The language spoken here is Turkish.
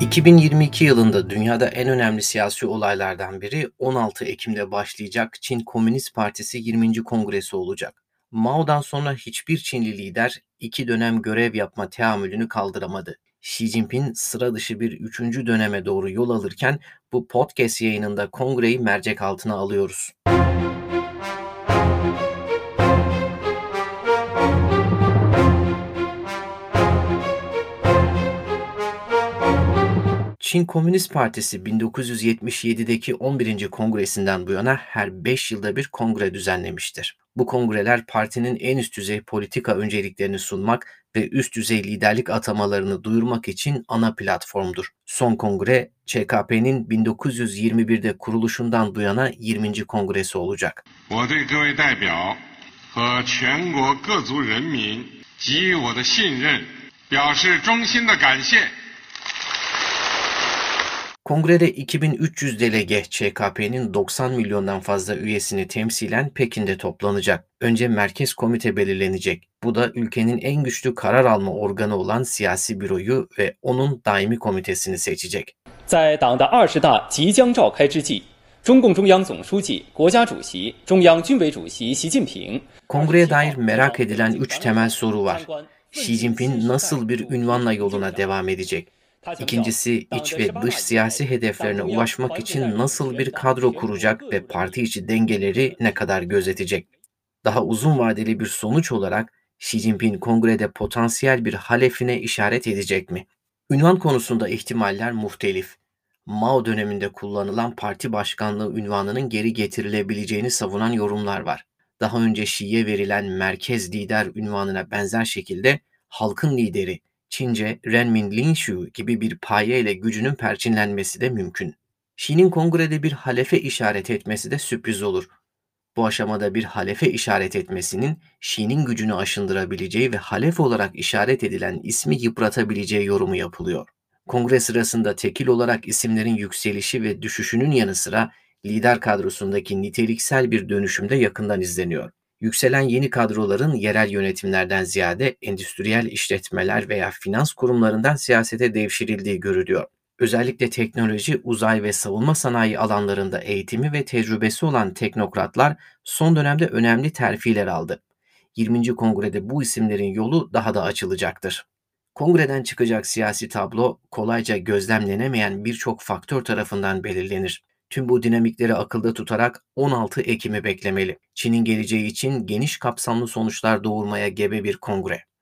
2022 yılında dünyada en önemli siyasi olaylardan biri 16 Ekim'de başlayacak Çin Komünist Partisi 20. Kongresi olacak. Mao'dan sonra hiçbir Çinli lider 2 dönem görev yapma teamülünü kaldıramadı. Xi Jinping sıra dışı bir 3. döneme doğru yol alırken bu podcast yayınında kongreyi mercek altına alıyoruz. Çin Komünist Partisi 1977'deki 11. kongresinden bu yana her 5 yılda bir kongre düzenlemiştir. Bu kongreler partinin en üst düzey politika önceliklerini sunmak ve üst düzey liderlik atamalarını duyurmak için ana platformdur. Son kongre ÇKP'nin 1921'de kuruluşundan bu yana 20. kongresi olacak. 我对各位代表和全国各族人民给予我的信任表示衷心的感谢。 Kongrede 2300 delege ÇKP'nin 90 milyondan fazla üyesini temsilen Pekin'de toplanacak. Önce merkez komite belirlenecek. Bu da ülkenin en güçlü karar alma organı olan siyasi büroyu ve onun daimi komitesini seçecek. 在党的20大即将召开之际，中共中央总书记、国家主席、中央军委主席习近平 Kongreye dair merak edilen 3 temel soru var. Xi Jinping nasıl bir ünvanla yoluna devam edecek? İkincisi, iç ve dış siyasi hedeflerine ulaşmak için nasıl bir kadro kuracak ve parti içi dengeleri ne kadar gözetecek? Daha uzun vadeli bir sonuç olarak Xi Jinping kongrede potansiyel bir halefine işaret edecek mi? Ünvan konusunda ihtimaller muhtelif. Mao döneminde kullanılan parti başkanlığı ünvanının geri getirilebileceğini savunan yorumlar var. Daha önce Xi'ye verilen merkez lider ünvanına benzer şekilde halkın lideri, Çince Renmin Linshu gibi bir paye ile gücünün perçinlenmesi de mümkün. Xi'nin kongrede bir halefe işaret etmesi de sürpriz olur. Bu aşamada bir halefe işaret etmesinin Xi'nin gücünü aşındırabileceği ve halef olarak işaret edilen ismi yıpratabileceği yorumu yapılıyor. Kongre sırasında tekil olarak isimlerin yükselişi ve düşüşünün yanı sıra lider kadrosundaki niteliksel bir dönüşüm de yakından izleniyor. Yükselen yeni kadroların yerel yönetimlerden ziyade endüstriyel işletmeler veya finans kurumlarından siyasete devşirildiği görülüyor. Özellikle teknoloji, uzay ve savunma sanayi alanlarında eğitimi ve tecrübesi olan teknokratlar son dönemde önemli terfiler aldı. 20. kongrede bu isimlerin yolu daha da açılacaktır. Kongreden çıkacak siyasi tablo kolayca gözlemlenemeyen birçok faktör tarafından belirlenir. Tüm bu dinamikleri akılda tutarak 16 Ekim'i beklemeli. Çin'in geleceği için geniş kapsamlı sonuçlar doğurmaya gebe bir kongre.